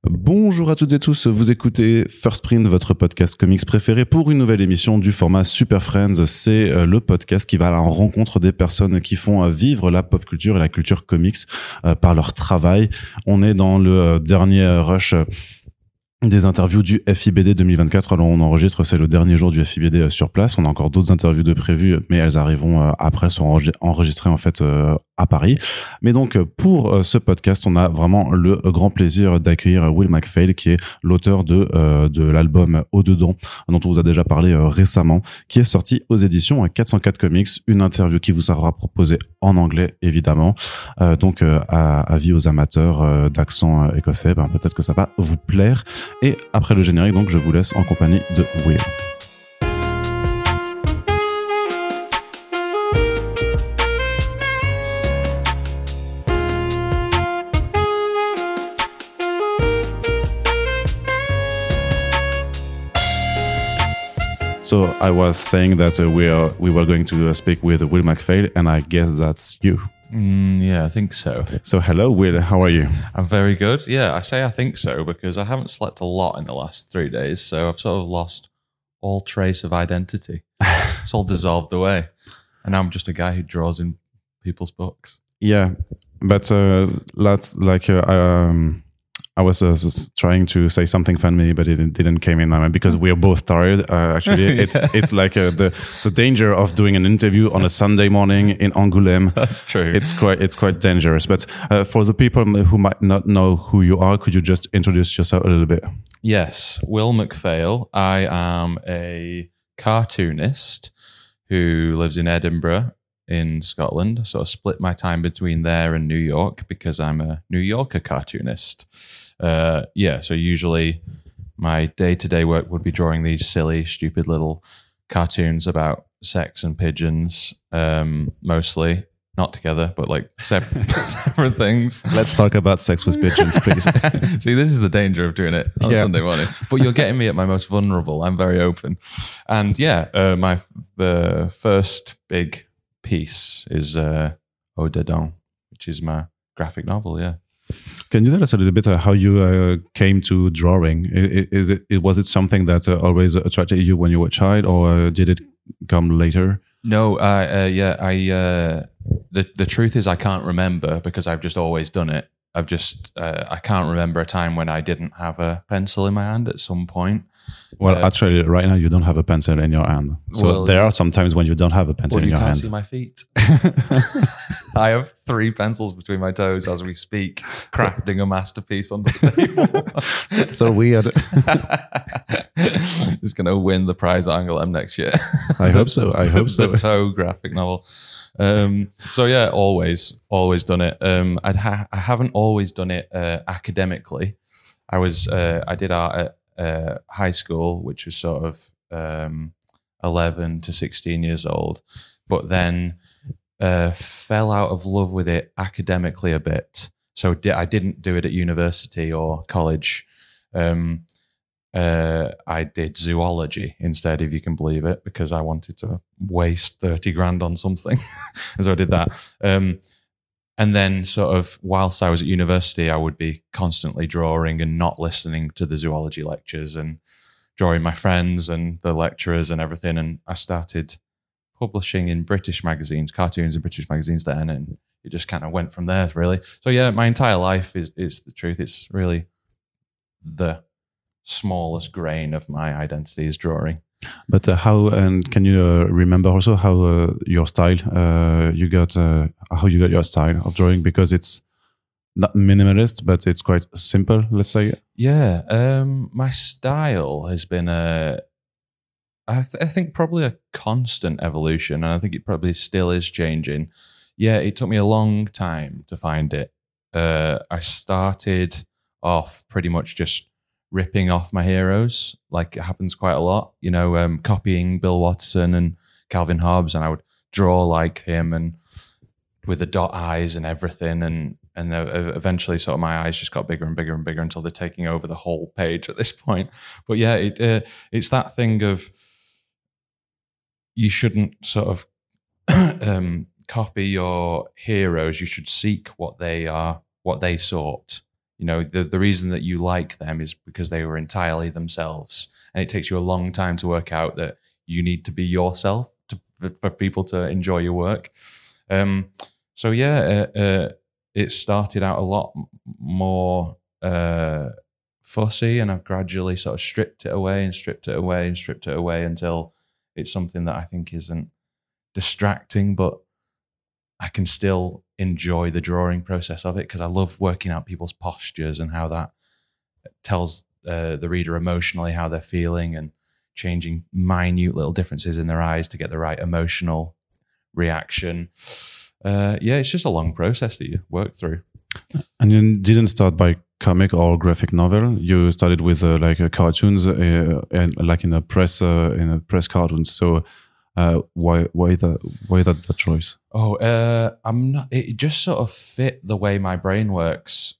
Bonjour à toutes et tous, vous écoutez First Print, votre podcast comics préféré pour une nouvelle émission du format Super Friends. C'est le podcast qui va à la rencontre des personnes qui font vivre la pop culture et la culture comics par leur travail. On est dans le dernier rush des interviews du FIBD 2024. Alors on enregistre, c'est le dernier jour du FIBD sur place. On a encore d'autres interviews de prévues, mais elles arriveront après, elles seront enregistrées en fait à Paris. Mais donc pour ce podcast, on a vraiment le grand plaisir d'accueillir Will MacPhail, qui est l'auteur de l'album Au-dedans, dont on vous a déjà parlé récemment, qui est sorti aux éditions 404 Comics. Une interview qui vous sera proposée en anglais, évidemment. Donc avis aux amateurs d'accent écossais, peut-être que ça va vous plaire. Et après le générique, donc, je vous laisse en compagnie de Will. So I was saying that we were going to speak with Will MacPhail, and I guess that's you. Yeah, I think so. So hello, Will. How are you? I'm very good. Yeah, I say I think so because I haven't slept a lot in the last 3 days, so I've sort of lost all trace of identity. It's all dissolved away. And now I'm just a guy who draws in people's books. Yeah, but that's like I was trying to say something funny, but it didn't come in because we are both tired. Actually, it's like the danger of doing an interview on a Sunday morning in Angoulême. That's true. It's quite dangerous. But for the people who might not know who you are, could you just introduce yourself a little bit? Yes, Will MacPhail. I am a cartoonist who lives in Edinburgh in Scotland. So I split my time between there and New York because I'm a New Yorker cartoonist. So usually my day-to-day work would be drawing these silly, stupid little cartoons about sex and pigeons, mostly. Not together, but like separate things. Let's talk about sex with pigeons, please. See, this is the danger of doing it on Sunday morning. But you're getting me at my most vulnerable. I'm very open. And the first big piece is Au-dedans, which is my graphic novel, yeah. Can you tell us a little bit how you came to drawing? Was it something that always attracted you when you were a child, or did it come later? No, the truth is I can't remember because I've just always done it. I can't remember a time when I didn't have a pencil in my hand at some point. Well, actually, right now you don't have a pencil in your hand. So there are some times when you don't have a pencil in your hand. You can't see my feet. I have 3 pencils between my toes as we speak, crafting a masterpiece on the table. It's so weird. It's going to win the prize at Angoulême next year. I hope so. The toe graphic novel. Always done it. I haven't always done it academically. I did art at high school, which was sort of 11 to 16 years old, but then fell out of love with it academically a bit. So I didn't do it at university or college. I did zoology instead, if you can believe it, because I wanted to waste 30 grand on something. And so I did that. And then sort of whilst I was at university, I would be constantly drawing and not listening to the zoology lectures and drawing my friends and the lecturers and everything. And I started publishing in British magazines, cartoons in British magazines then, and it just kind of went from there, really. So yeah, my entire life is the truth. It's really the smallest grain of my identity is drawing. But how, and can you remember also how your style, how you got your style of drawing? Because it's not minimalist, but it's quite simple, let's say. Yeah, my style has been I think probably a constant evolution, and I think it probably still is changing. Yeah, it took me a long time to find it. I started off pretty much just ripping off my heroes, like it happens quite a lot, copying Bill Watson and Calvin Hobbes, and I would draw like him and with the dot eyes and everything, and eventually sort of my eyes just got bigger and bigger and bigger until they're taking over the whole page at this point. But yeah, it's that thing of you shouldn't sort of copy your heroes. You should seek what they are, what they sought. You know, the reason that you like them is because they were entirely themselves, and it takes you a long time to work out that you need to be yourself for people to enjoy your work. So yeah, it started out a lot more fussy, and I've gradually sort of stripped it away until it's something that I think isn't distracting, but I can still enjoy the drawing process of it because I love working out people's postures and how that tells the reader emotionally how they're feeling, and changing minute little differences in their eyes to get the right emotional reaction. It's just a long process that you work through. And you didn't start by comic or graphic novel. You started with cartoons and like in a press cartoons. So why that choice? I'm not. It just sort of fit the way my brain works.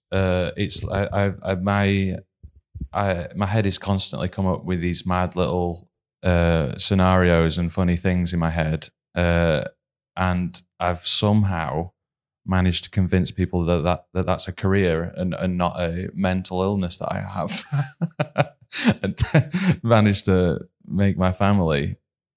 My head is constantly come up with these mad little scenarios and funny things in my head, and I've somehow managed to convince people that's a career and not a mental illness that I have, and managed to make my family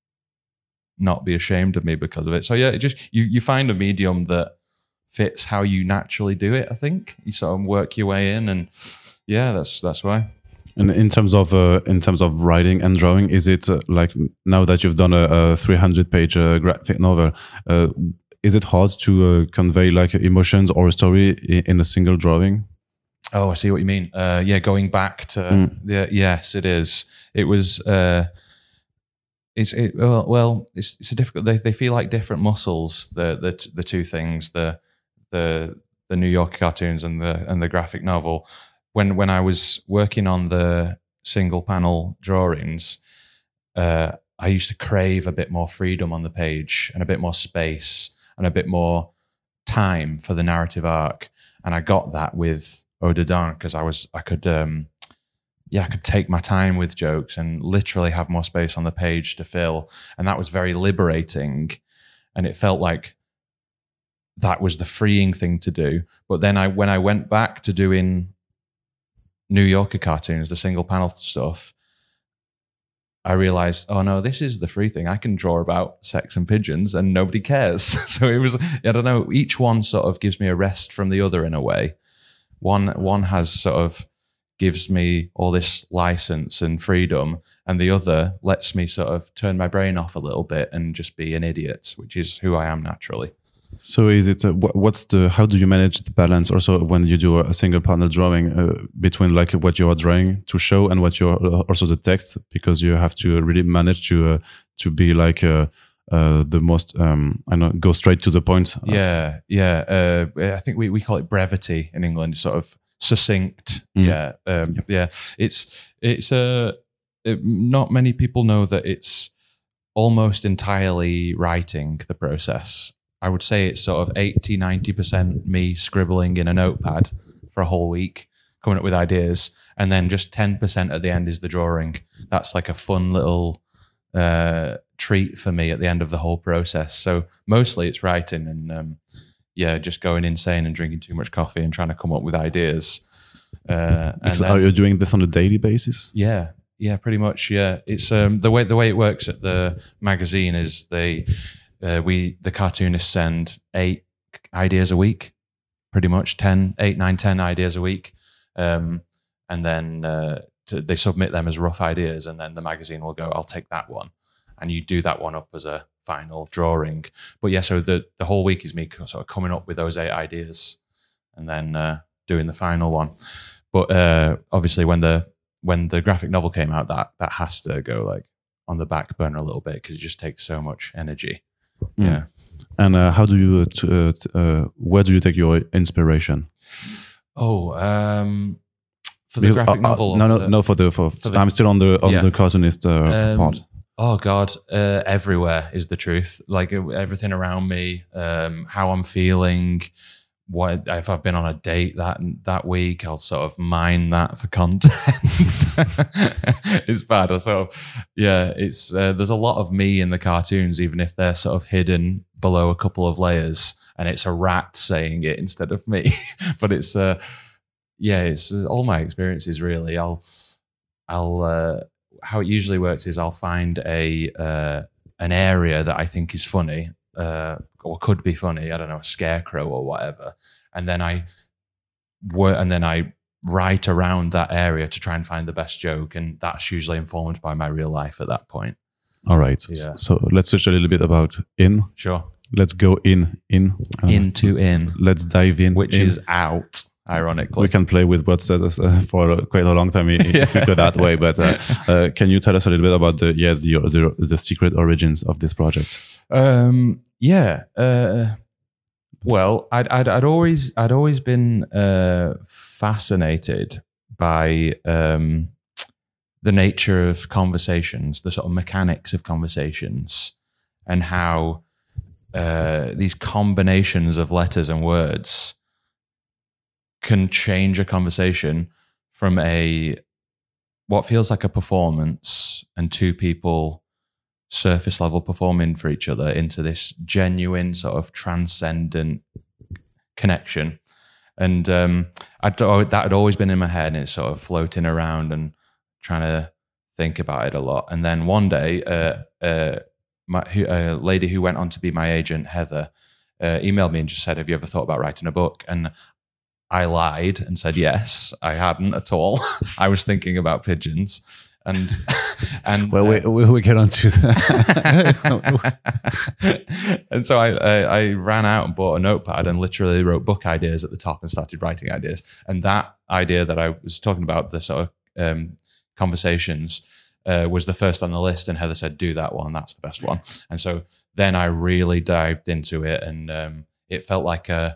not be ashamed of me because of it. So yeah, it just you find a medium that fits how you naturally do it. I think you sort of work your way in, and yeah, that's why. And in terms of writing and drawing, is it like now that you've done a 300-page graphic novel, is it hard to convey like emotions or a story in a single drawing? Oh, I see what you mean. Going back to yes, it is. It was. It's a difficult. They feel like different muscles. The two things. The New Yorker cartoons and the graphic novel. When I was working on the single panel drawings, I used to crave a bit more freedom on the page and a bit more space and a bit more time for the narrative arc. And I got that with Eau Dedans because I could take my time with jokes and literally have more space on the page to fill. And that was very liberating. And it felt like that was the freeing thing to do. But then when I went back to doing New Yorker cartoons, the single panel stuff, I realized, oh no, this is the free thing. I can draw about sex and pigeons and nobody cares. So it was, I don't know, each one sort of gives me a rest from the other in a way. One has sort of gives me all this license and freedom, and the other lets me sort of turn my brain off a little bit and just be an idiot, which is who I am naturally. So is it how do you manage the balance also when you do a single panel drawing between like what you are drawing to show and what you're also the text, because you have to really manage to be like the most go straight to the point. I think we call it brevity in England, sort of succinct. It's not many people know that it's almost entirely writing, the process. I would say it's sort of 80-90% me scribbling in a notepad for a whole week, coming up with ideas, and then just 10% at the end is the drawing. That's like a fun little treat for me at the end of the whole process. So mostly it's writing and just going insane and drinking too much coffee and trying to come up with ideas. Are you doing this on a daily basis? Yeah, pretty much. Yeah, it's the way it works at the magazine is the cartoonists send 8 ideas a week, pretty much 10 ideas a week, and then they submit them as rough ideas, and then the magazine will go, I'll take that one, and you do that one up as a final drawing. But yeah, so the whole week is me sort of coming up with those 8 ideas and then doing the final one. But obviously when the graphic novel came out, that has to go like on the back burner a little bit because it just takes so much energy. Yeah. And how do you where do you take your inspiration? For the graphic novel? For I'm still on the cartoonist part. Oh God, everywhere is the truth. Like everything around me, how I'm feeling. What if I've been on a date that week? I'll sort of mine that for content. It's bad. It's there's a lot of me in the cartoons, even if they're sort of hidden below a couple of layers, and it's a rat saying it instead of me. But it's it's all my experiences really. I'll how it usually works is I'll find an area that I think is funny or could be funny. I don't know, a scarecrow or whatever, and then I write around that area to try and find the best joke, and that's usually informed by my real life at that point. All right. Yeah. So let's switch a little bit about in. Sure. Let's go in. Into in. Let's dive in. Which is out, ironically. We can play with word studies for quite a long time if we go that way. But can you tell us a little bit about the secret origins of this project? Well, I'd always been fascinated by the nature of conversations, the sort of mechanics of conversations, and how these combinations of letters and words can change a conversation from what feels like a performance and two people surface level performing for each other into this genuine sort of transcendent connection. And that had always been in my head, and it's sort of floating around and trying to think about it a lot. And then one day, a lady who went on to be my agent, Heather, emailed me and just said, "Have you ever thought about writing a book?" And I lied and said yes, I hadn't at all. I was thinking about pigeons. And well, we get on to that. And so I ran out and bought a notepad and literally wrote book ideas at the top and started writing ideas. And that idea that I was talking about, the sort of conversations, was the first on the list. And Heather said, "Do that one. That's the best one." And so then I really dived into it, and it felt like a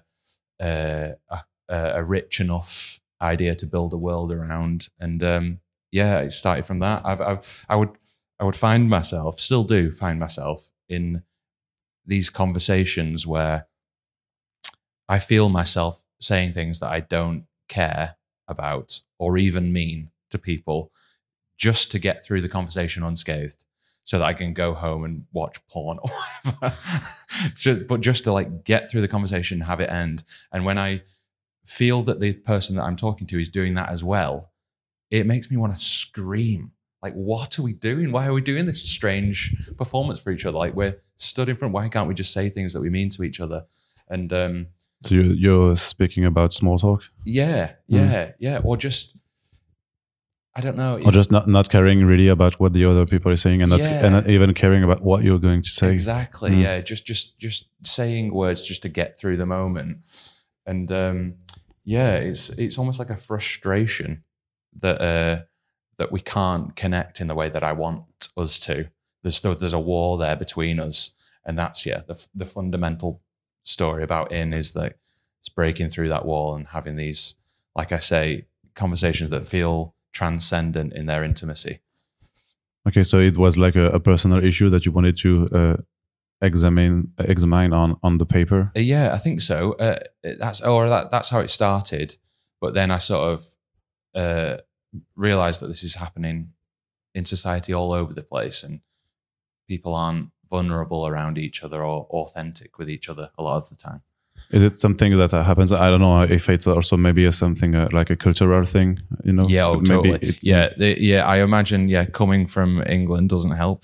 rich enough idea to build a world around. And it started from that. I would find myself, still do find myself in these conversations where I feel myself saying things that I don't care about or even mean to people, just to get through the conversation unscathed, so that I can go home and watch porn or whatever. But just to like get through the conversation, have it end. And when I feel that the person that I'm talking to is doing that as well, it makes me want to scream. Like, what are we doing? Why are we doing this strange performance for each other? Like, we're stood in front. Why can't we just say things that we mean to each other? And so you're speaking about small talk? Yeah. Or just, I don't know. Or just not caring really about what the other people are saying, and not even caring about what you're going to say. Exactly. Yeah. Just saying words just to get through the moment. And it's almost like a frustration that we can't connect in the way that I want us to. There's a wall there between us, and that's the fundamental story about In is that it's breaking through that wall and having these, like I say, conversations that feel transcendent in their intimacy. Okay, so it was like a personal issue that you wanted to examine on the paper. Yeah, I think so. That's how it started. But then I sort of realized that this is happening in society all over the place, and people aren't vulnerable around each other or authentic with each other a lot of the time. Is it something that happens? I don't know if it's also maybe something like a cultural thing, you know? Yeah, totally. I imagine, coming from England doesn't help.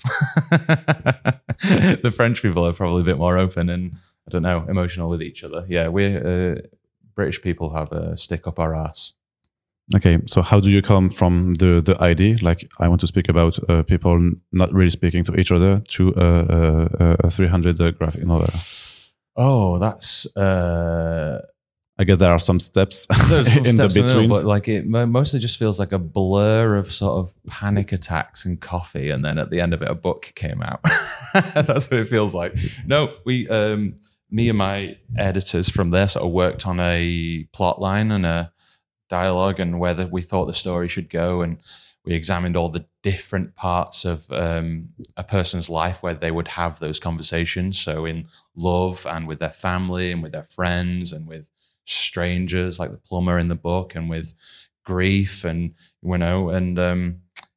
The French people are probably a bit more open and, I don't know, emotional with each other. Yeah, we're British people have a stick up our ass. Okay, so how do you come from the idea, like I want to speak about people not really speaking to each other, to a 300 graphic novel? Oh, that's... I guess there are some steps in the between, but like it mostly just feels like a blur of sort of panic attacks and coffee, and then at the end of it, a book came out. That's what it feels like. No, me and my editors from there sort of worked on a plot line and a dialogue and whether we thought the story should go, and we examined all the different parts of a person's life where they would have those conversations. So in love and with their family and with their friends and with strangers like the plumber in the book, and with grief, and the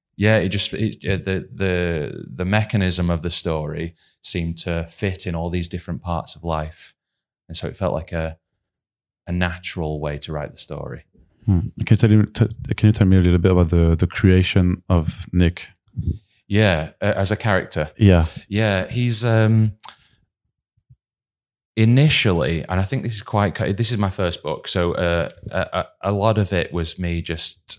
mechanism of the story seemed to fit in all these different parts of life, and so it felt like a natural way to write the story. Can you tell me a little bit about the creation of Nick? Yeah, as a character. Yeah. He's initially, and I think this is my first book, so a lot of it was me just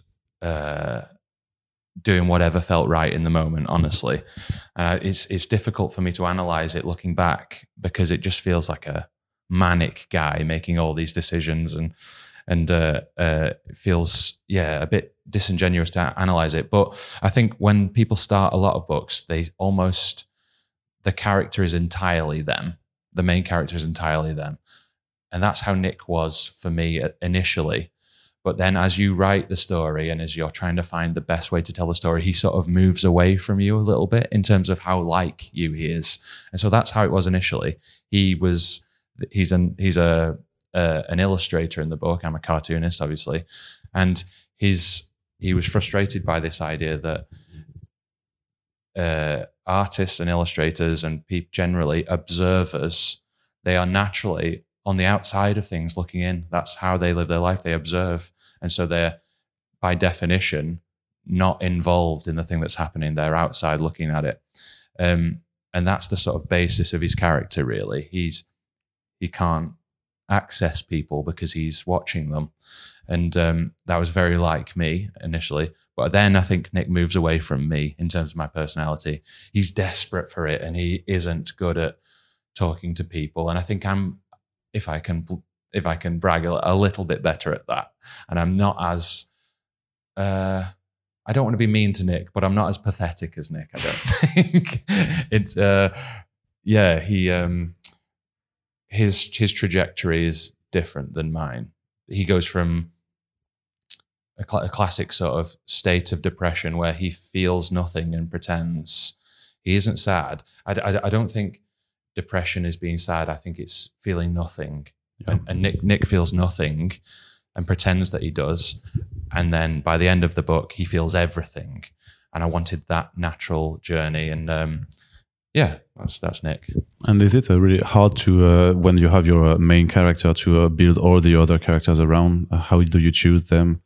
doing whatever felt right in the moment, honestly. And it's difficult for me to analyze it looking back, because it just feels like a manic guy making all these decisions, and it feels a bit disingenuous to analyze it. But I think when people start a lot of books, the character is entirely them. The main character is entirely them. And that's how Nick was for me initially. But then as you write the story and as you're trying to find the best way to tell the story, he sort of moves away from you a little bit in terms of how like you he is. And so that's how it was initially. He's an illustrator in the book. I'm a cartoonist, obviously. And he was frustrated by this idea that artists and illustrators and generally observers, they are naturally on the outside of things looking in. That's how they live their life. They observe. And so they're, by definition, not involved in the thing that's happening. They're outside looking at it. And that's the sort of basis of his character, really. He can't access people because he's watching them. And that was very like me initially. But then I think Nick moves away from me in terms of my personality. He's desperate for it, and he isn't good at talking to people. And I think if I can brag a little bit better at that. And I'm not as, I don't want to be mean to Nick, but I'm not as pathetic as Nick, I don't think. It's, his trajectory is different than mine. He goes from a classic sort of state of depression where he feels nothing and pretends. He isn't sad. I don't think depression is being sad. I think it's feeling nothing. Yeah. And Nick feels nothing and pretends that he does. And then by the end of the book, he feels everything. And I wanted that natural journey. And that's Nick. And is it really hard to, when you have your main character, to build all the other characters around? How do you choose them?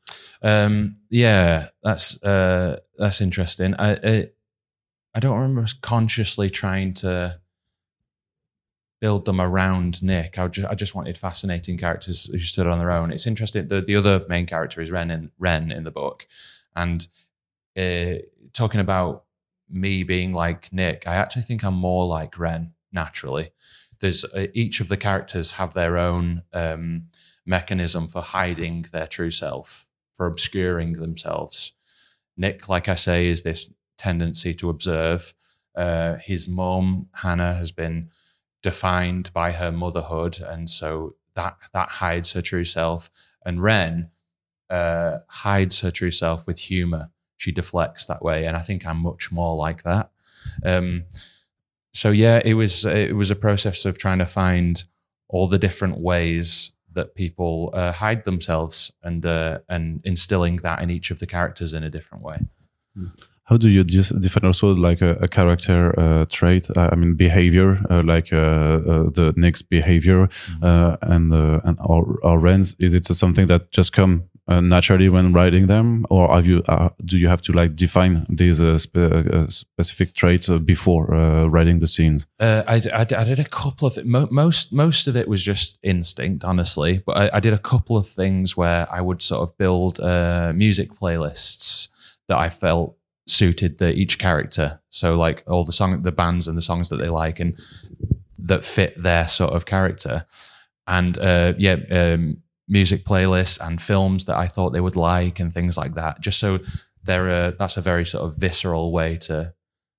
That's interesting. I don't remember consciously trying to build them around Nick. I just wanted fascinating characters who stood on their own. It's interesting. The other main character is Ren in the book, and talking about me being like Nick, I actually think I'm more like Ren naturally. There's each of the characters have their own mechanism for hiding their true self, for obscuring themselves. Nick, like I say, is this tendency to observe. His mom, Hannah, has been defined by her motherhood, and so that hides her true self. And Ren hides her true self with humor. She deflects that way, and I think I'm much more like that. It was a process of trying to find all the different ways that people hide themselves, and instilling that in each of the characters in a different way. How do you define also like a character trait? I mean, behavior, like the Nick's behavior, and our Ren's. Is it something that just come naturally when writing them, or do you have to like define these specific traits before writing the scenes? I did a couple of most of it was just instinct, honestly. But I did a couple of things where I would sort of build music playlists that I felt suited each character. So like all the bands and the songs that they like and that fit their sort of character, and music playlists and films that I thought they would like and things like that. Just so that's a very sort of visceral way to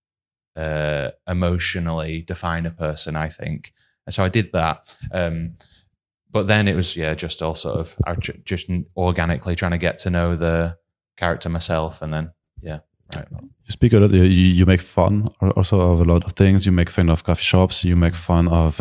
emotionally define a person, I think. And so I did that. But then it was just all sort of just organically trying to get to know the character myself, and then right. You speak a lot. You make fun also of a lot of things. You make fun of coffee shops. You make fun of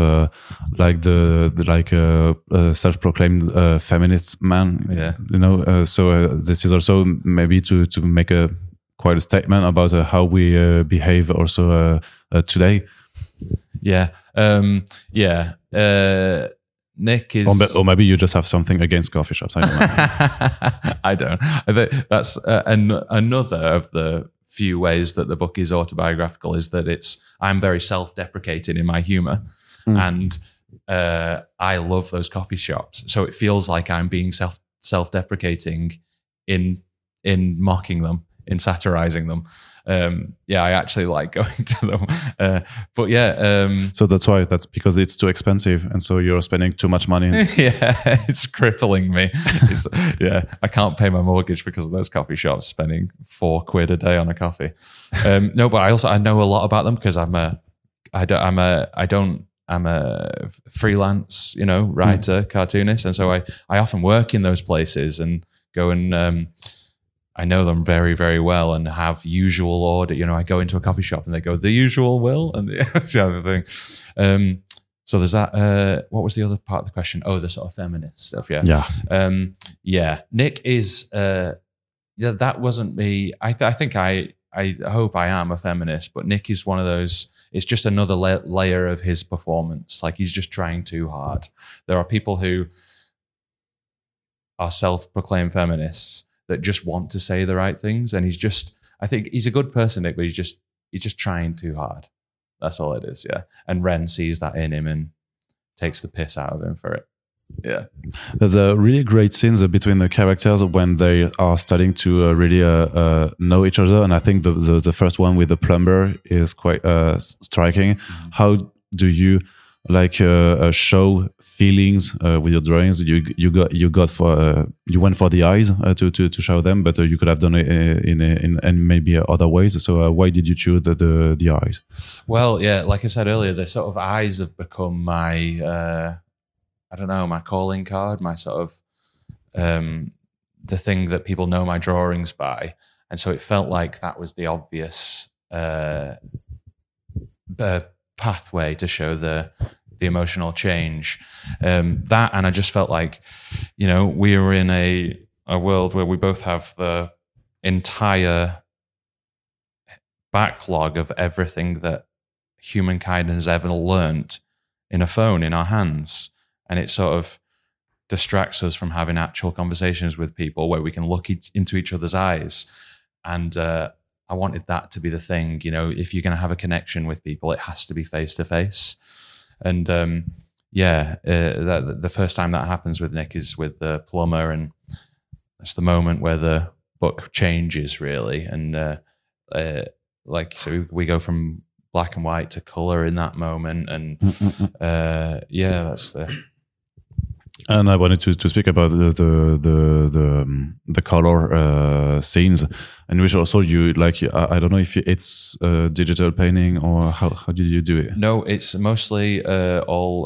self-proclaimed feminist man. Yeah. So this is also maybe to make quite a statement about how we behave also today. Yeah. Nick is, or maybe you just have something against coffee shops. I don't know. I don't. I think that's another of the few ways that the book is autobiographical, is that I'm very self-deprecating in my humor, and I love those coffee shops. So it feels like I'm being self-deprecating in mocking them, in satirizing them. I actually like going to them. But yeah. So that's because it's too expensive. And so you're spending too much money. Yeah, it's crippling me. I can't pay my mortgage because of those coffee shops, spending £4 a day on a coffee. No, but I know a lot about them because I'm a freelance, writer, cartoonist. And so I often work in those places and go and, I know them very, very well and have usual order. I go into a coffee shop and they go, the usual will, and that's the other thing. So there's that. What was the other part of the question? Oh, the sort of feminist stuff. Yeah. Yeah. Nick is, that wasn't me. I think I hope I am a feminist, but Nick is one of those, it's just another layer of his performance. Like he's just trying too hard. There are people who are self-proclaimed feminists that just want to say the right things. And I think he's a good person, Nick, but he's just trying too hard. That's all it is. Yeah. And Ren sees that in him and takes the piss out of him for it. Yeah. There's a really great scenes between the characters when they are starting to really know each other. And I think the first one with the plumber is quite striking. Mm-hmm. How do you show feelings with your drawings? You went for the eyes to show them, but you could have done it in maybe other ways. So why did you choose the eyes? Well, yeah, like I said earlier, the sort of eyes have become my my calling card, my sort of the thing that people know my drawings by, and so it felt like that was the obvious pathway to show the emotional change. That, and I just felt like, we were in a world where we both have the entire backlog of everything that humankind has ever learnt in a phone in our hands. And it sort of distracts us from having actual conversations with people where we can look into each other's eyes. And I wanted that to be the thing, if you're going to have a connection with people, it has to be face to face. And the first time that happens with Nick is with the plumber, and that's the moment where the book changes really. And so we go from black and white to color in that moment. And that's the. And I wanted to speak about the color scenes, and which also I don't know if it's digital painting or how did you do it? No, it's mostly all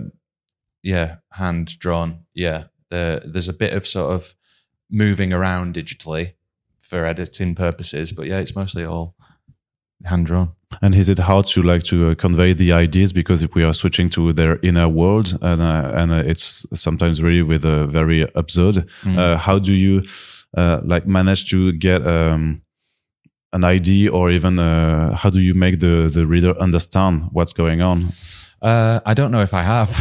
hand drawn. Yeah, there's a bit of sort of moving around digitally for editing purposes, but yeah, it's mostly all hand drawn. And is it hard to convey the ideas because if we are switching to their inner world and it's sometimes really with a very absurd? How do you manage to get an idea, or even how do you make the reader understand what's going on? I don't know if I have.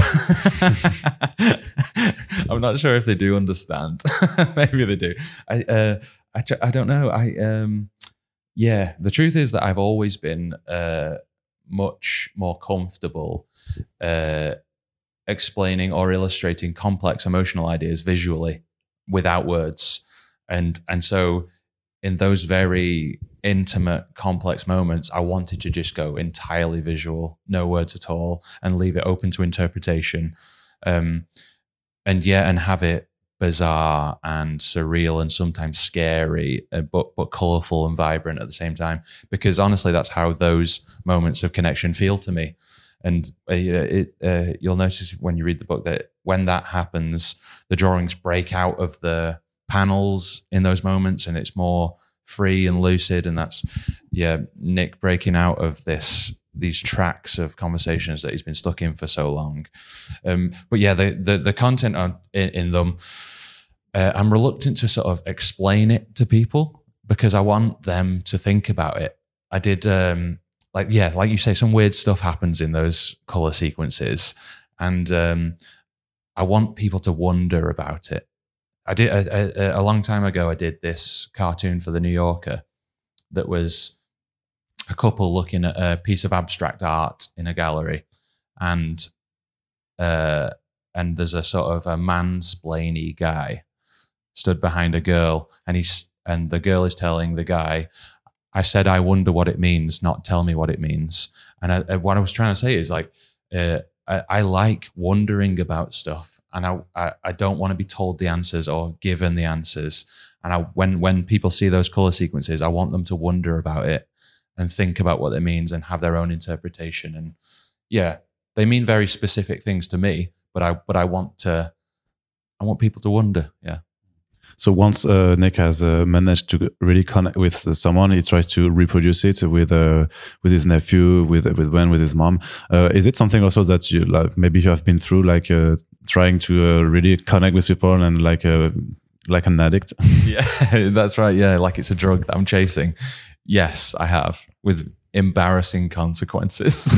I'm not sure if they do understand. Maybe they do. I don't know. Yeah, the truth is that I've always been much more comfortable explaining or illustrating complex emotional ideas visually without words. And so in those very intimate, complex moments, I wanted to just go entirely visual, no words at all, and leave it open to interpretation. And have it bizarre and surreal and sometimes scary, but colorful and vibrant at the same time. Because honestly, that's how those moments of connection feel to me. And you'll notice when you read the book that when that happens, the drawings break out of the panels in those moments, and it's more free and lucid. And that's Nick breaking out of these tracks of conversations that he's been stuck in for so long. But yeah, the content in them, I'm reluctant to sort of explain it to people because I want them to think about it. I did, like you say, some weird stuff happens in those color sequences. And I want people to wonder about it. I did a long time ago. I did this cartoon for the New Yorker that was a couple looking at a piece of abstract art in a gallery, and there's a sort of a mansplainy guy stood behind a girl, and the girl is telling the guy, "I said I wonder what it means, not tell me what it means." And what I was trying to say is like, I like wondering about stuff, and I don't want to be told the answers or given the answers. And when people see those color sequences, I want them to wonder about it and think about what it means and have their own interpretation. And yeah, they mean very specific things to me, but I want people to wonder. Yeah. So once Nick has managed to really connect with someone, he tries to reproduce it with his nephew, with Ben, with his mom. Is it something also that you like? Maybe you have been through, like trying to really connect with people and like an addict. Yeah, that's right. Yeah, like it's a drug that I'm chasing. Yes, I have, with embarrassing consequences.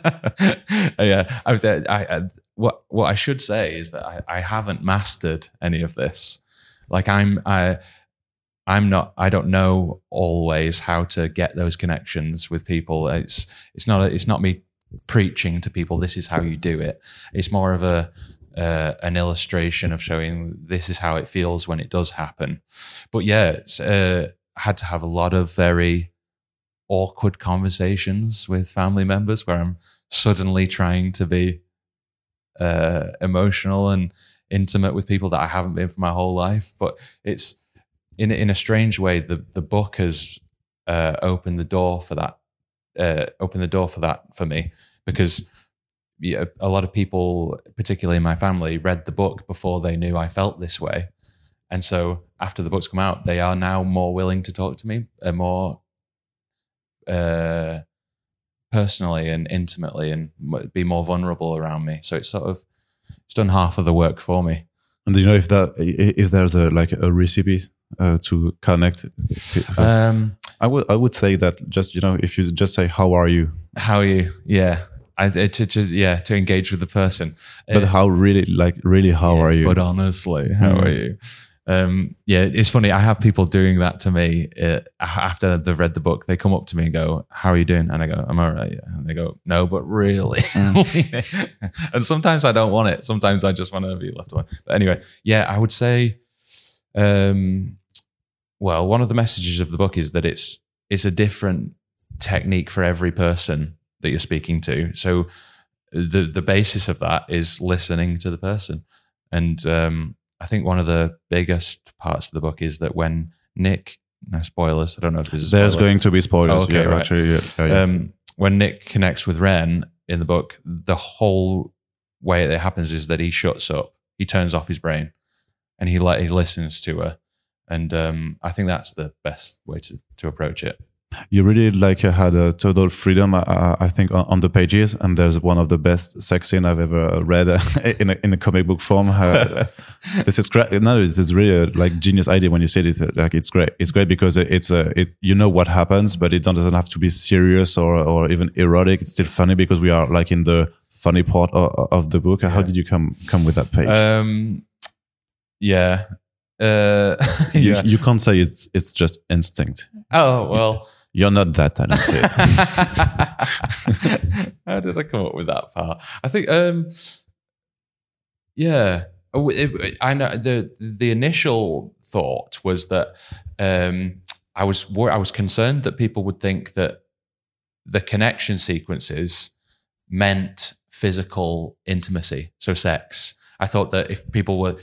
Yeah, what I should say is that I haven't mastered any of this. Like I don't know always how to get those connections with people. It's not me preaching to people, this is how you do it. It's more of an illustration of showing this is how it feels when it does happen. But yeah, I had to have a lot of very awkward conversations with family members where I'm suddenly trying to be emotional and intimate with people that I haven't been for my whole life. But it's in a strange way, the book has opened the door for that for me, because a lot of people, particularly in my family, read the book before they knew I felt this way. And so after the book's come out, they are now more willing to talk to me more personally and intimately, and be more vulnerable around me. So it's done half of the work for me. And do you know if there's a recipe to connect? I would say that just, if you just say, "How are you?" How are you? Yeah. To engage with the person. But how are you? But honestly, how are you? Yeah, it's funny. I have people doing that to me after they've read the book. They come up to me and go, "How are you doing?" And I go, "I'm all right." Yeah. And they go, "No, but really." And sometimes I don't want it. Sometimes I just want to be left alone. But anyway, yeah, I would say, well, one of the messages of the book is that it's a different technique for every person that you're speaking to. So the basis of that is listening to the person. And I think one of the biggest parts of the book is that when Nick, no spoilers, I don't know if there's going to be spoilers. Oh, okay, yeah, right. Actually, yeah. When Nick connects with Ren in the book, the whole way that it happens is that he shuts up, he turns off his brain, and he listens to her. And I think that's the best way to approach it. You really had a total freedom, I think, on the pages, and there's one of the best sex scene I've ever read in a comic book form. This is great. No, it's really a genius idea when you say it. It's great. It's great because it's what happens, but it doesn't have to be serious or even erotic. It's still funny because we are in the funny part of the book. How did you come with that page? Yeah. You can't say it's just instinct. Oh, well. You're not that talented. How did I come up with that part? I think, yeah. I know the initial thought was that I was concerned that people would think that the connection sequences meant physical intimacy, so sex. I thought that if people were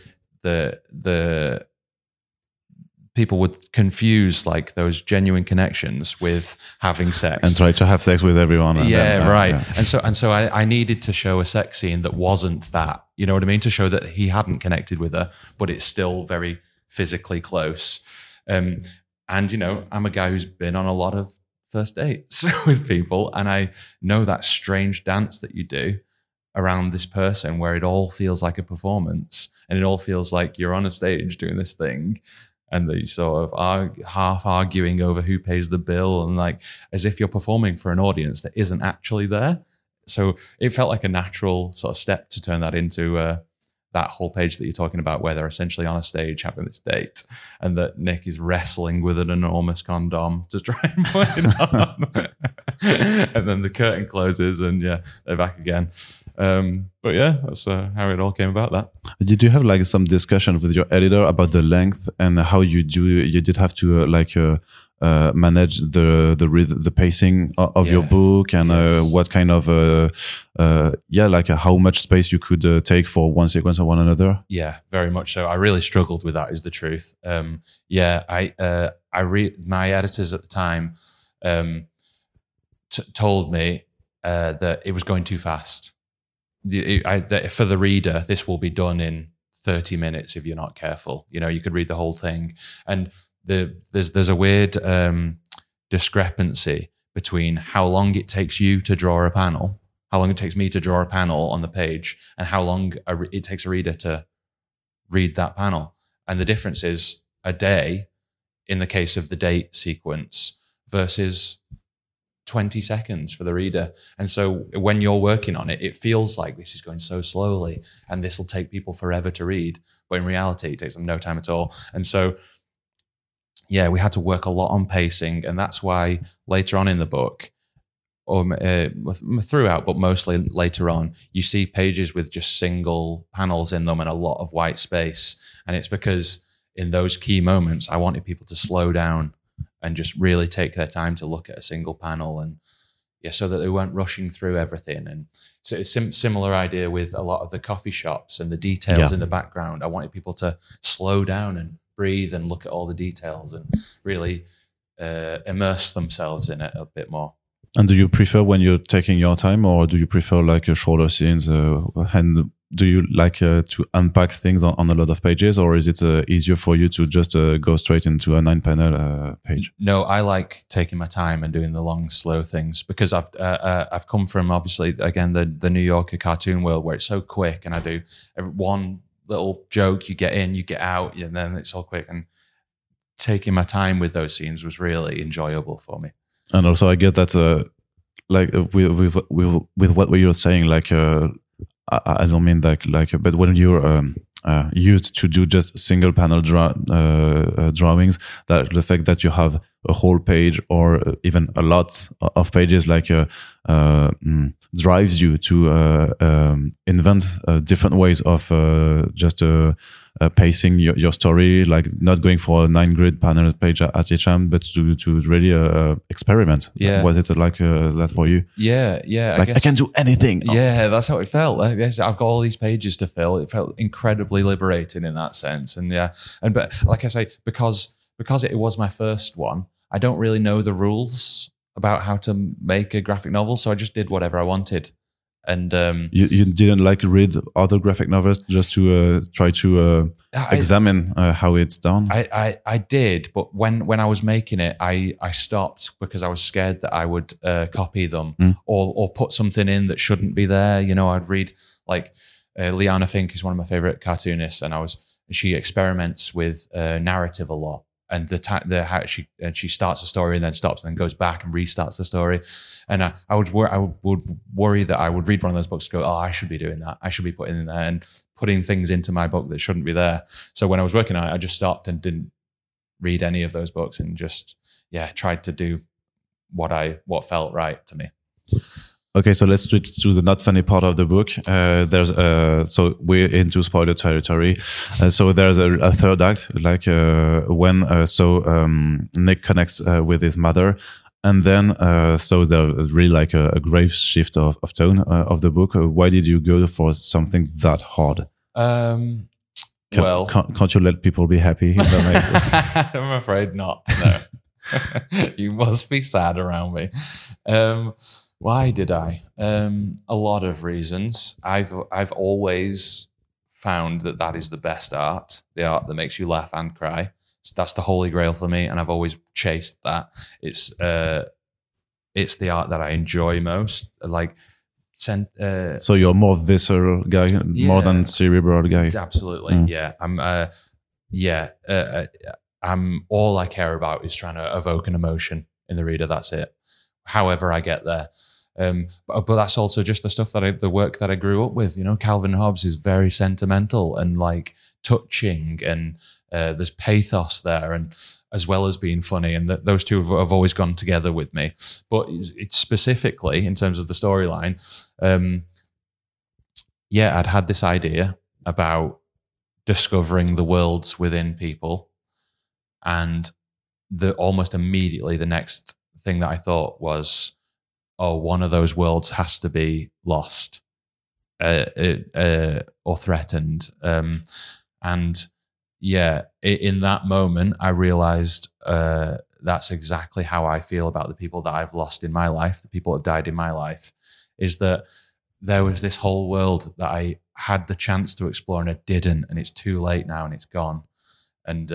people would confuse those genuine connections with having sex and try to have sex with everyone. Right. Yeah. And so I needed to show a sex scene that wasn't that. You know what I mean? To show that he hadn't connected with her, but it's still very physically close. And I'm a guy who's been on a lot of first dates with people, and I know that strange dance that you do around this person where it all feels like a performance and it all feels like you're on a stage doing this thing. And they sort of are half arguing over who pays the bill, and as if you're performing for an audience that isn't actually there. So it felt like a natural sort of step to turn that into that whole page that you're talking about, where they're essentially on a stage having this date, and that Nick is wrestling with an enormous condom to try and put it on. And then the curtain closes, and yeah, they're back again. But yeah, that's how it all came about. That. Did you have like some discussion with your editor about the length and how you did have to manage the pacing of your book, and what kind of how much space you could take for one sequence or one another? Yeah, very much so. I really struggled with that, is the truth. My editors at the time told me that it was going too fast. That for the reader, this will be done in 30 minutes if you're not careful. You could read the whole thing, and there's a weird discrepancy between how long it takes you to draw a panel, how long it takes me to draw a panel on the page, and how long it takes a reader to read that panel. And the difference is a day in the case of the date sequence versus 20 seconds for the reader. And so when you're working on it, it feels like this is going so slowly and this will take people forever to read. But in reality, it takes them no time at all. And so, yeah, we had to work a lot on pacing. And that's why later on in the book, or throughout, but mostly later on, you see pages with just single panels in them and a lot of white space. And it's because in those key moments, I wanted people to slow down and just really take their time to look at a single panel, and so that they weren't rushing through everything. And so it's a similar idea with a lot of the coffee shops and the details in the background. I wanted people to slow down and breathe and look at all the details and really immerse themselves in it a bit more. And do you prefer when you're taking your time, or do you prefer like shorter scenes? And do you like to unpack things on a lot of pages, or is it easier for you to just go straight into a 9-panel page? No, I like taking my time and doing the long, slow things, because I've come from, obviously, again, the New Yorker cartoon world where it's so quick, and I do one little joke, you get in, you get out, and then it's all quick. And taking my time with those scenes was really enjoyable for me. And also, I guess that's with what you're saying, like. I don't mean but when you're used to do just single panel drawings, that the fact that you have a whole page or even a lot of pages drives you to invent different ways of just pacing your story, like not going for a 9-grid panel page at each time, but to really experiment. Yeah. Was it like that for you? Yeah. Like I can do anything. Yeah, that's how it felt. I guess I've got all these pages to fill. It felt incredibly liberating in that sense. And but like I say, because it was my first one, I don't really know the rules about how to make a graphic novel, so I just did whatever I wanted. And you didn't read other graphic novels just to try to examine how it's done? I did, but when I was making it, I stopped because I was scared that I would copy them or put something in that shouldn't be there. I'd read Liana Finck is one of my favorite cartoonists, and she experiments with narrative a lot. And how she starts a story and then stops and then goes back and restarts the story, and I would worry that I would read one of those books and go, oh, I should be doing that. I should be putting in there and putting things into my book that shouldn't be there. So when I was working on it, I just stopped and didn't read any of those books and just tried to do what felt right to me. Okay, so let's switch to the not funny part of the book. There's so we're into spoiler territory. So there's a third act, when Nick connects with his mother, and then so there's really a grave shift of tone of the book. Why did you go for something that hard? Can't you let people be happy? I'm afraid not. No, you must be sad around me. Why did I? A lot of reasons. I've always found that is the best art, the art that makes you laugh and cry. So that's the holy grail for me, and I've always chased that. It's the art that I enjoy most. So you're more visceral guy, more than cerebral guy. Absolutely, yeah. I'm all I care about is trying to evoke an emotion in the reader. That's it. However I get there. But that's also just the stuff the work that I grew up with. You know, Calvin Hobbes is very sentimental and like touching, and there's pathos there, and as well as being funny, and those two have always gone together with me. But it's specifically in terms of the storyline, I'd had this idea about discovering the worlds within people, and almost immediately the next thing that I thought was, oh, one of those worlds has to be lost or threatened. And yeah, in that moment, I realized that's exactly how I feel about the people that I've lost in my life, the people that have died in my life, is that there was this whole world that I had the chance to explore and I didn't, and it's too late now and it's gone. And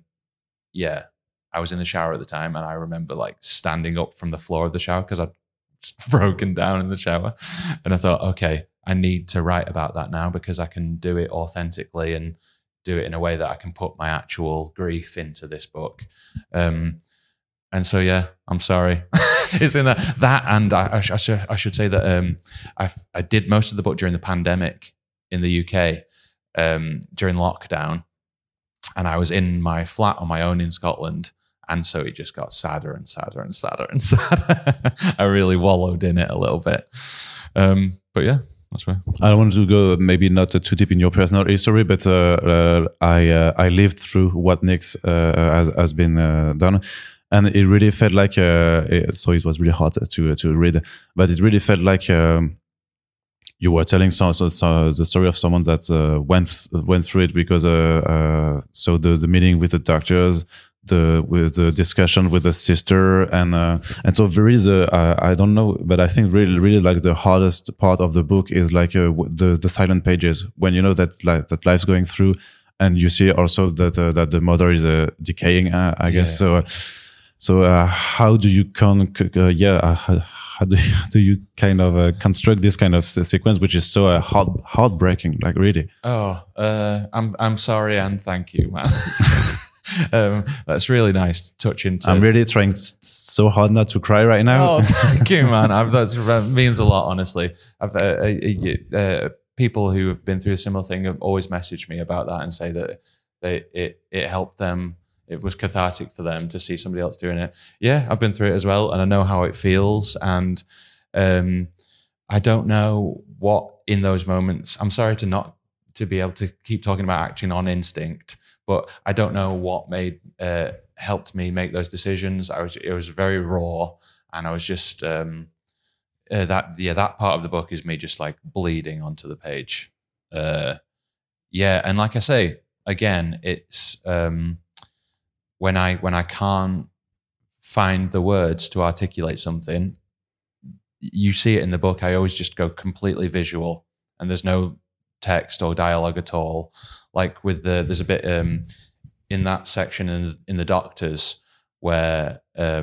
I was in the shower at the time, and I remember like standing up from the floor of the shower because I'd broken down in the shower. And I thought, okay, I need to write about that now because I can do it authentically and do it in a way that I can put my actual grief into this book. And so, yeah, I'm sorry. It's in that, and I should say that I did most of the book during the pandemic in the UK during lockdown, and I was in my flat on my own in Scotland, and so it just got sadder and sadder and sadder and sadder. I really wallowed in it a little bit, but yeah. That's right. I don't want to go maybe not too deep in your personal history, but I lived through what Nyx has been done, and it really felt like so it was really hard to read, but it really felt like you were telling the story of someone that went through it, because so the meeting with the doctors, with the discussion with the sister, and so there is I don't know, but I think really like the hardest part of the book is like the silent pages, when you know that life's going through, and you see also that the mother is decaying, I guess. So how do you how do you kind of construct this kind of sequence, which is so heartbreaking, like really? I'm sorry and thank you, man. That's really nice to touch into. I'm really trying so hard not to cry right now. Oh, thank you, man. That means a lot, honestly. People who have been through a similar thing have always messaged me about that and say that it helped them. It was cathartic for them to see somebody else doing it. Yeah, I've been through it as well, and I know how it feels. And I don't know what in those moments. I'm sorry to be able to keep talking about acting on instinct, but I don't know what helped me make those decisions. It was very raw, and I was just that part of the book is me just like bleeding onto the page. And like I say again, it's when I can't find the words to articulate something, you see it in the book. I always just go completely visual, and there's no text or dialogue at all. Like there's a bit in that section in the Doctors where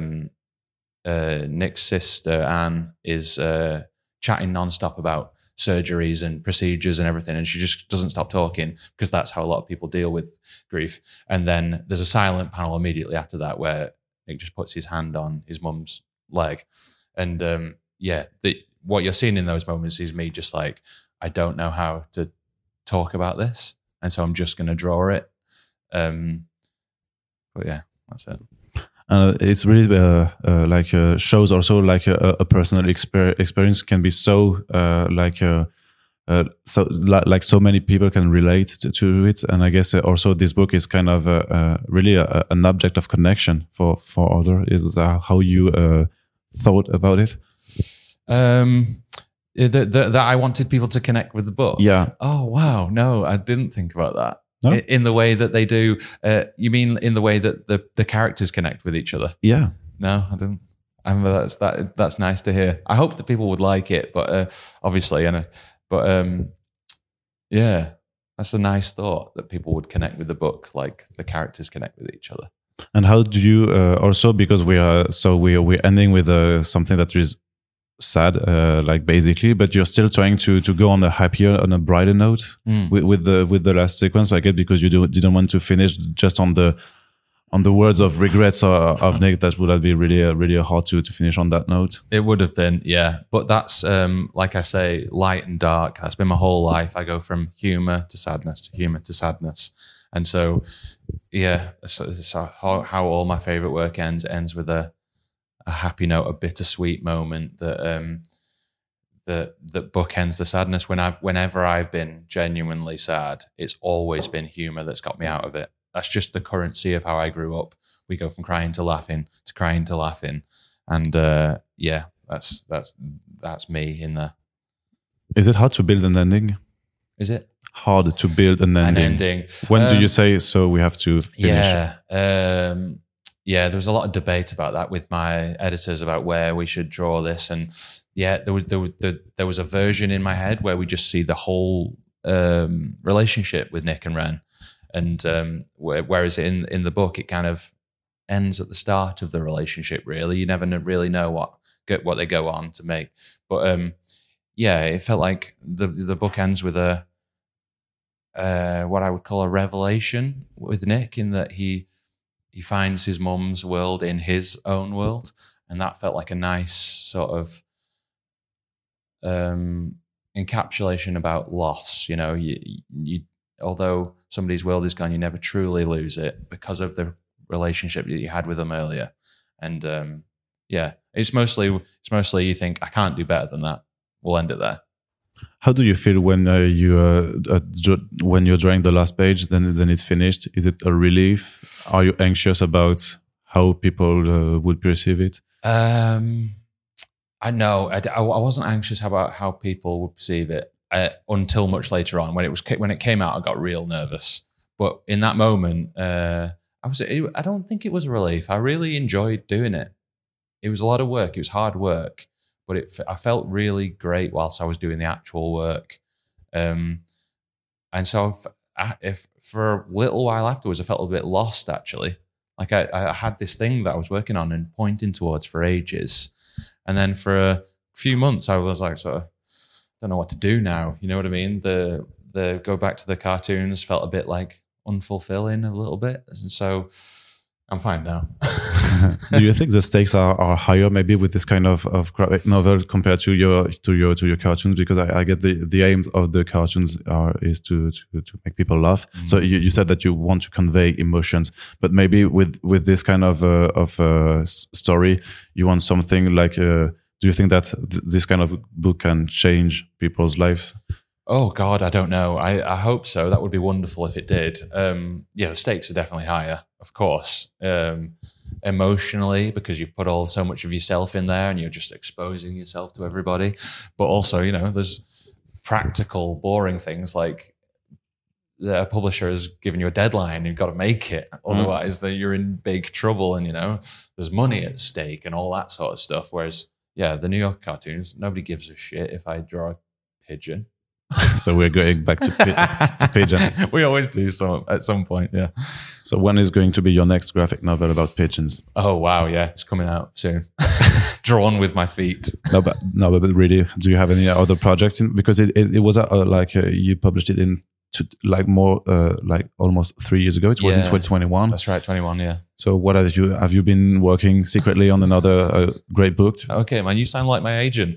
Nick's sister Anne is chatting nonstop about surgeries and procedures and everything, and she just doesn't stop talking, because that's how a lot of people deal with grief. And then there's a silent panel immediately after that where Nick just puts his hand on his mum's leg, and what you're seeing in those moments is me just like, I don't know how to talk about this, and so I'm just going to draw it. But yeah, that's it. It's really shows also like a personal experience can be so so many people can relate to it, and I guess also this book is kind of really an object of connection for others. Is that how you thought about it? That I wanted people to connect with the book. Yeah. Oh wow, no, I didn't think about that. No? In the way that they do. You mean in the way that the characters connect with each other? Yeah. No, I didn't. That's nice to hear. I hope that people would like it, but obviously, yeah, that's a nice thought that people would connect with the book, like the characters connect with each other. And how do you also, because we're ending with something that is sad, like basically, but you're still trying to go on a brighter note with the last sequence, I guess, because you didn't want to finish just on the on the words of regrets of Nick, that would be really hard to finish on that note. It would have been, yeah. But that's, like I say, light and dark. That's been my whole life. I go from humor to sadness to humor to sadness. And so, yeah, it's how all my favorite work ends with a happy note, a bittersweet moment that bookends the sadness. Whenever I've been genuinely sad, it's always been humor that's got me out of it. That's just the currency of how I grew up. We go from crying to laughing to crying to laughing, and yeah, that's me in there. Is it hard to build an ending? Is it hard to build an ending? When do you say so? We have to finish. Yeah. There was a lot of debate about that with my editors about where we should draw this, and yeah, there was a version in my head where we just see the whole relationship with Nick and Ren, and whereas in the book it kind of ends at the start of the relationship. Really, you never really know what they go on to make, but yeah, it felt like the book ends with a what I would call a revelation with Nick, in that he finds his mum's world in his own world, and that felt like a nice sort of encapsulation about loss. You know, you although somebody's world is gone, you never truly lose it because of the relationship that you had with them earlier. And yeah, it's mostly you think, I can't do better than that. We'll end it there. How do you feel when when you're drawing the last page, then it's finished? Is it a relief? Are you anxious about how people would perceive it? I know I wasn't anxious about how people would perceive it until much later on. When it came out, I got real nervous. But in that moment, I don't think it was a relief. I really enjoyed doing it. It was a lot of work. It was hard work. But I felt really great whilst I was doing the actual work. And so if for a little while afterwards, I felt a bit lost, actually. Like I had this thing that I was working on and pointing towards for ages. And then for a few months, I was like, sort of, don't know what to do now. You know what I mean? The go back to the cartoons felt a bit like unfulfilling a little bit. And so I'm fine now. Do you think the stakes are higher maybe with this kind of graphic novel compared to your cartoons? Because I get the aim of the cartoons is to make people laugh. Mm-hmm. So you said that you want to convey emotions, but maybe with this kind of story, you want something like. Do you think that this kind of book can change people's lives? Oh God, I don't know. I hope so. That would be wonderful if it did. Yeah, the stakes are definitely higher, of course. Emotionally, because you've put so much of yourself in there and you're just exposing yourself to everybody. But also, you know, there's practical, boring things like a publisher has given you a deadline, you've got to make it. Otherwise, then you're in big trouble, and, you know, there's money at stake and all that sort of stuff. Whereas, yeah, the New York cartoons, nobody gives a shit if I draw a pigeon. So we're going back to pigeon. We always do at some point, yeah. So when is going to be your next graphic novel about pigeons? Oh wow, yeah, it's coming out soon. Drawn with my feet. No, but really, do you have any other projects? Because it was like you published it in like almost 3 years ago. It was in 2021. That's right, 21. Yeah. So what have you been working secretly on another great book? Okay, man, you sound like my agent.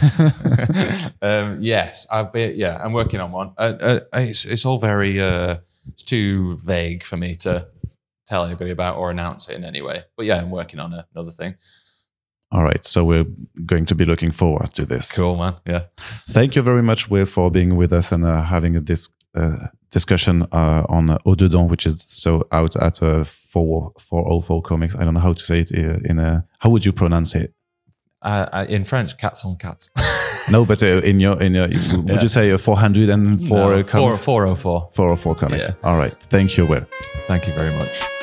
Yes, I'm working on one. It's all very it's too vague for me to tell anybody about or announce it in any way. But yeah, I'm working on another thing. All right, so we're going to be looking forward to this. Cool, man. Yeah. Thank you very much, Will, for being with us and having this discussion on Au Dedans, which is so out at 404 Comics. I don't know how to say it how would you pronounce it? In French, cats on cats. No, but in your would you say 404 comics? 404. 404 comics. Yeah. All right. Thank you, Will. Thank you very much.